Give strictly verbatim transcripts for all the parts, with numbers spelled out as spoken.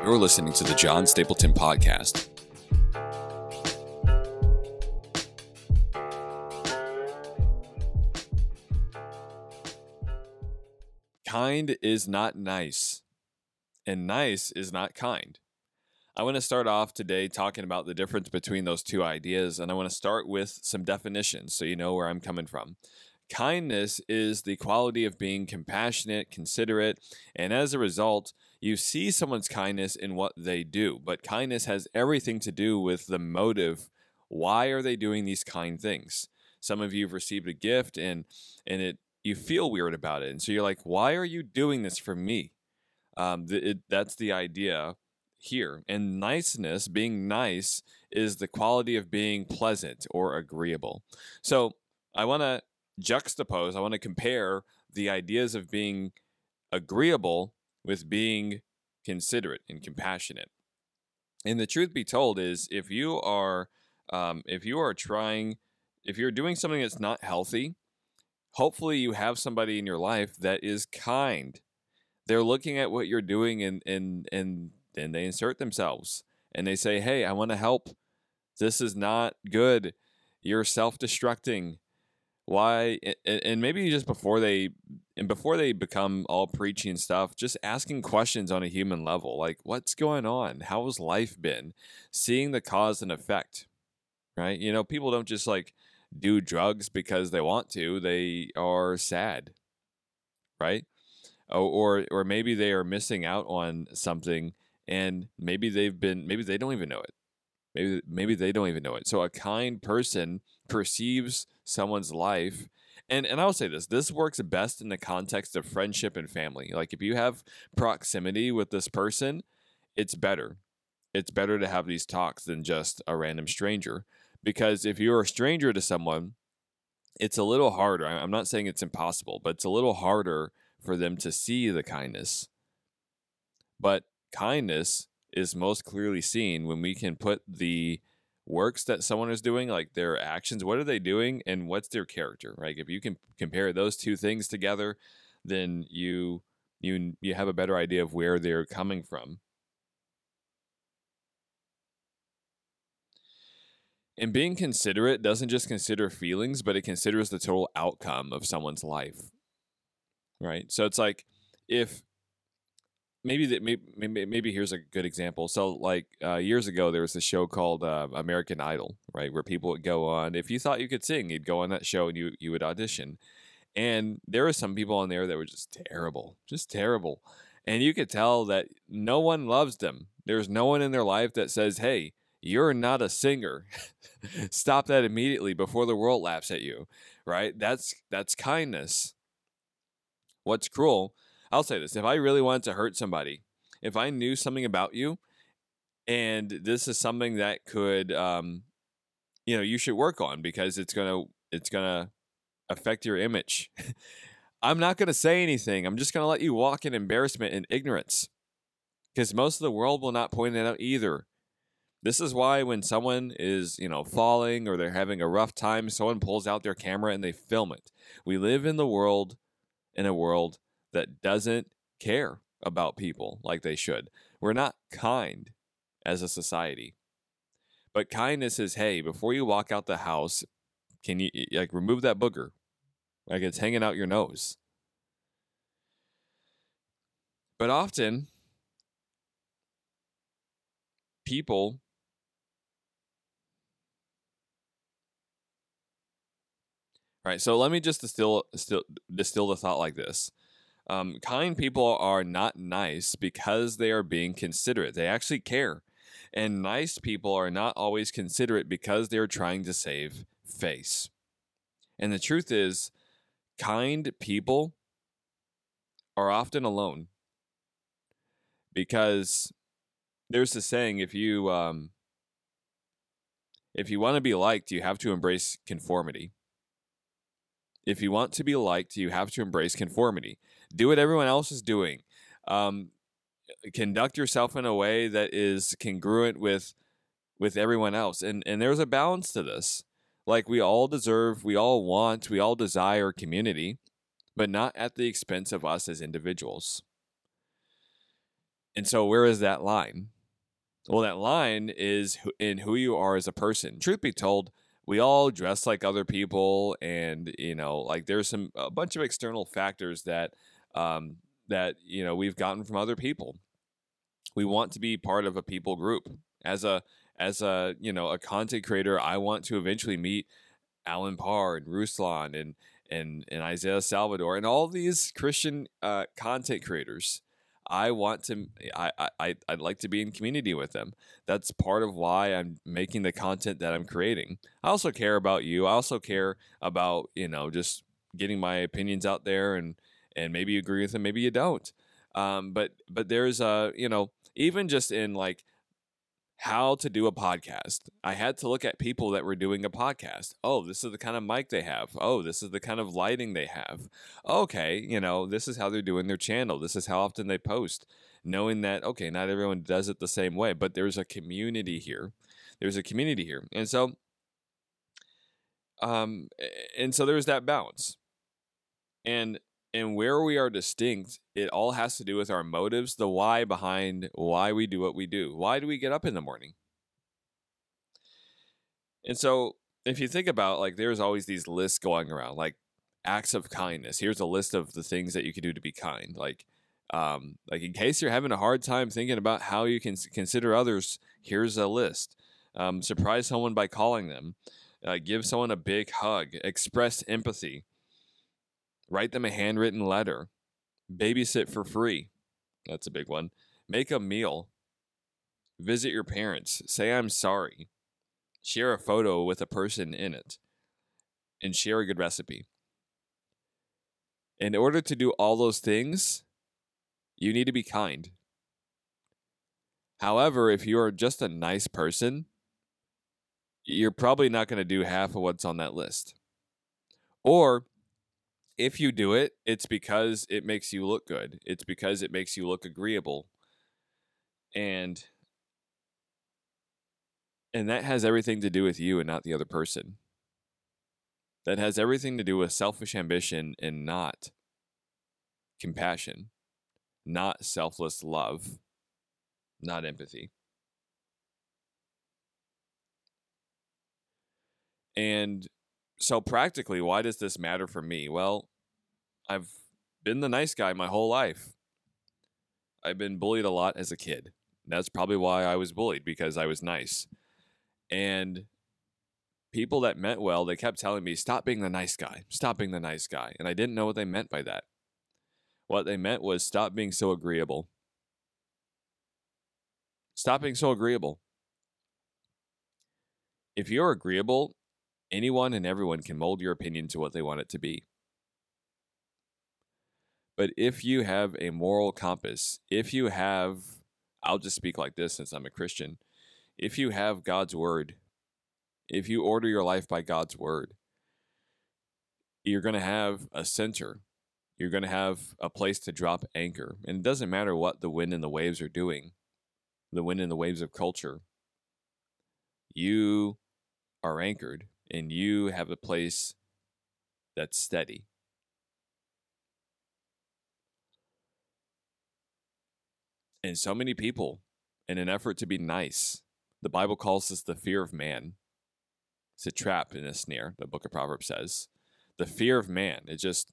You're listening to the John Stapleton Podcast. Kind is not nice, and nice is not kind. I want to start off today talking about the difference between those two ideas, and I want to start with some definitions so you know where I'm coming from. Kindness is the quality of being compassionate, considerate, and as a result, you see someone's kindness in what they do. But kindness has everything to do with the motive. Why are they doing these kind things? Some of you have received a gift and and it you feel weird about it, and so you're like, "Why are you doing this for me?" Um, th- it, that's the idea here. And niceness, being nice, is the quality of being pleasant or agreeable. So I want to juxtapose, I want to compare the ideas of being agreeable with being considerate and compassionate. And the truth be told is, if you are, um, if you are trying, if you're doing something that's not healthy, hopefully you have somebody in your life that is kind. They're looking at what you're doing and and and and they insert themselves and they say, "Hey, I want to help. This is not good. You're self-destructing. Why?" And, and maybe just before they and before they become all preachy and stuff, just asking questions on a human level, like, what's going on? How has life been? Seeing the cause and effect, right? You know, people don't just like do drugs because they want to. They are sad, right? Or or, or maybe they are missing out on something, and maybe they've been maybe they don't even know it. Maybe maybe they don't even know it. So a kind person perceives someone's life. And and I'll say this, this works best in the context of friendship and family. Like if you have proximity with this person, it's better. It's better to have these talks than just a random stranger. Because if you're a stranger to someone, it's a little harder. I'm not saying it's impossible, but it's a little harder for them to see the kindness. But kindness is most clearly seen when we can put the works that someone is doing, like their actions, what are they doing, and what's their character, right? If you can compare those two things together, then you you you have a better idea of where they're coming from. And being considerate doesn't just consider feelings, but it considers the total outcome of someone's life, right? So it's like if maybe that maybe, maybe maybe here's a good example. So like uh, years ago, there was a show called uh, American Idol, right, where people would go on. If you thought you could sing, you'd go on that show and you you would audition. And there were some people on there that were just terrible, just terrible, and you could tell that no one loves them. There's no one in their life that says, "Hey, you're not a singer. Stop that immediately before the world laughs at you." Right? That's that's kindness. What's cruel? I'll say this. If I really wanted to hurt somebody, if I knew something about you and this is something that could, um, you know, you should work on because it's going to, it's going to affect your image. I'm not going to say anything. I'm just going to let you walk in embarrassment and ignorance because most of the world will not point it out either. This is why when someone is, you know, falling or they're having a rough time, someone pulls out their camera and they film it. We live in the world, in a world that doesn't care about people like they should. We're not kind as a society. But kindness is, hey, before you walk out the house, can you like remove that booger? Like it's hanging out your nose. But often people All right, so let me just distill, distill, distill the thought like this. Um, kind people are not nice because they are being considerate. They actually care. And nice people are not always considerate because they're trying to save face. And the truth is, kind people are often alone. Because there's this saying, if you um, if you want to be liked, you have to embrace conformity. If you want to be liked, you have to embrace conformity. Do what everyone else is doing. Um, conduct yourself in a way that is congruent with with everyone else. And and there's a balance to this. Like we all deserve, we all want, we all desire community, but not at the expense of us as individuals. And so where is that line? Well, that line is in who you are as a person. Truth be told, we all dress like other people, and you know, like there's some a bunch of external factors that um, that you know we've gotten from other people. We want to be part of a people group. As a as a you know a content creator, I want to eventually meet Alan Parr and Ruslan and and and Isaiah Salvador and all these Christian uh, content creators. I want to. I, I I'd like to be in community with them. That's part of why I'm making the content that I'm creating. I also care about you. I also care about you know just getting my opinions out there and and maybe you agree with them, maybe you don't. Um, but but there's a you know even just in like how to do a podcast. I had to look at people that were doing a podcast. Oh, this is the kind of mic they have. Oh, this is the kind of lighting they have. Okay, you know, this is how they're doing their channel. This is how often they post. Knowing that, okay, not everyone does it the same way, but there's a community here. There's a community here. And so, um, and so there's that balance. And and where we are distinct, it all has to do with our motives, the why behind why we do what we do. Why do we get up in the morning? And so if you think about like there's always these lists going around, like acts of kindness. Here's a list of the things that you can do to be kind. Like um like in case you're having a hard time thinking about how you can s- consider others, here's a list. Um, surprise someone by calling them. Uh, give someone a big hug. Express empathy. Write them a handwritten letter. Babysit for free. That's a big one. Make a meal. Visit your parents. Say I'm sorry. Share a photo with a person in it. And share a good recipe. In order to do all those things, you need to be kind. However, if you are just a nice person, you're probably not going to do half of what's on that list. Or if you do it, it's because it makes you look good. It's because it makes you look agreeable. And and that has everything to do with you and not the other person. That has everything to do with selfish ambition and not compassion, not selfless love, not empathy. And so, practically, why does this matter for me? Well, I've been the nice guy my whole life. I've been bullied a lot as a kid. That's probably why I was bullied, because I was nice. And people that meant well, they kept telling me, stop being the nice guy, stop being the nice guy. And I didn't know what they meant by that. What they meant was stop being so agreeable. Stop being so agreeable. If you're agreeable, anyone and everyone can mold your opinion to what they want it to be. But if you have a moral compass, if you have, I'll just speak like this since I'm a Christian, if you have God's word, if you order your life by God's word, you're going to have a center. You're going to have a place to drop anchor. And it doesn't matter what the wind and the waves are doing, the wind and the waves of culture. You are anchored and you have a place that's steady. And so many people, in an effort to be nice, the Bible calls this the fear of man. It's a trap and a snare, the book of Proverbs says. The fear of man. It just,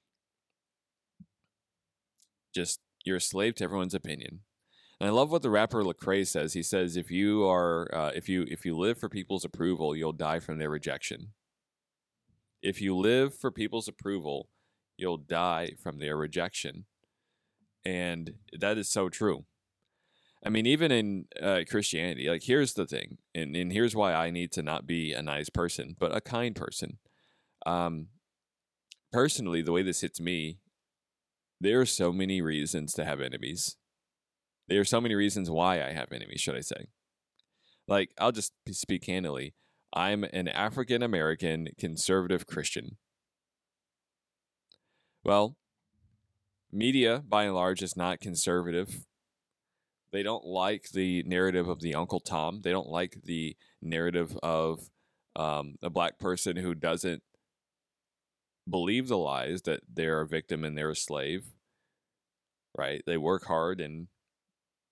just you're a slave to everyone's opinion. And I love what the rapper Lecrae says. He says, if you are, uh, if you if you live for people's approval, you'll die from their rejection. If you live for people's approval, you'll die from their rejection. And that is so true. I mean, even in uh, Christianity, like here's the thing, and, and here's why I need to not be a nice person, but a kind person. Um, personally, the way this hits me, there are so many reasons to have enemies. There are so many reasons why I have enemies, should I say. Like, I'll just speak candidly. I'm an African American conservative Christian. Well, media, by and large, is not conservative. They don't like the narrative of the Uncle Tom. They don't like the narrative of um, a black person who doesn't believe the lies that they're a victim and they're a slave, right? They work hard and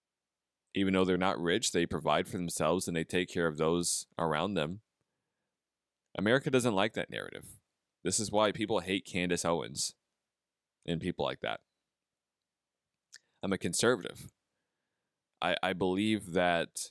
Even though they're not rich, they provide for themselves and they take care of those around them. America doesn't like that narrative. This is why people hate Candace Owens and people like that. I'm a conservative. I, I believe that,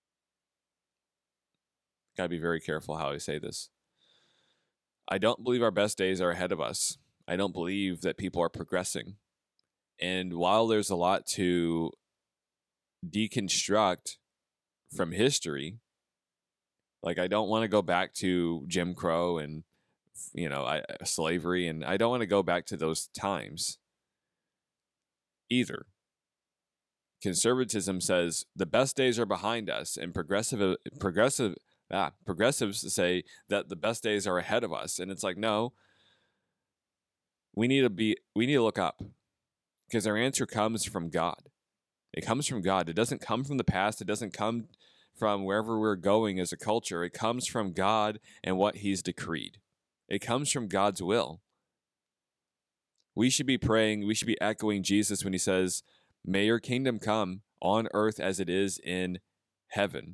gotta be very careful how I say this. I don't believe our best days are ahead of us. I don't believe that people are progressing. And while there's a lot to deconstruct from history, like I don't want to go back to Jim Crow and, you know, I, slavery, and I don't want to go back to those times either. Conservatism says the best days are behind us, and progressive progressive ah, progressives say that the best days are ahead of us. And it's like, no, we need to be we need to look up, because our answer comes from God. It comes from God. It doesn't come from the past. It doesn't come from wherever we're going as a culture. It comes from God and what He's decreed. It comes from God's will. We should be praying, we should be echoing Jesus when He says, may your kingdom come on earth as it is in heaven.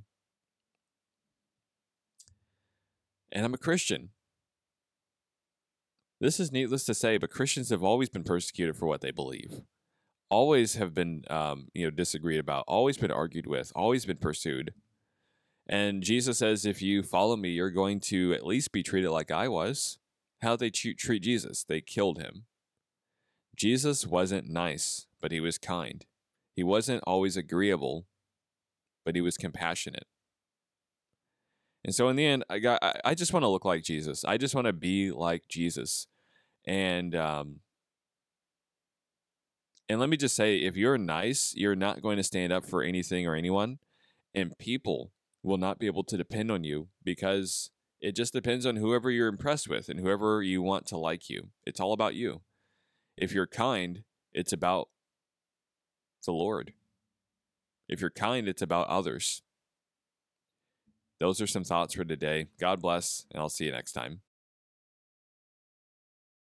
And I'm a Christian. This is needless to say, but Christians have always been persecuted for what they believe. Always have been, um, you know, disagreed about, always been argued with, always been pursued. And Jesus says, if you follow me, you're going to at least be treated like I was. How did they treat, treat Jesus? They killed Him. Jesus wasn't nice, but He was kind. He wasn't always agreeable, but He was compassionate. And so in the end, I got, I, I just want to look like Jesus. I just want to be like Jesus. And, um, and let me just say, if you're nice, you're not going to stand up for anything or anyone, and people will not be able to depend on you, because it just depends on whoever you're impressed with and whoever you want to like you. It's all about you. If you're kind, it's about the Lord. If you're kind, it's about others. Those are some thoughts for today. God bless, and I'll see you next time.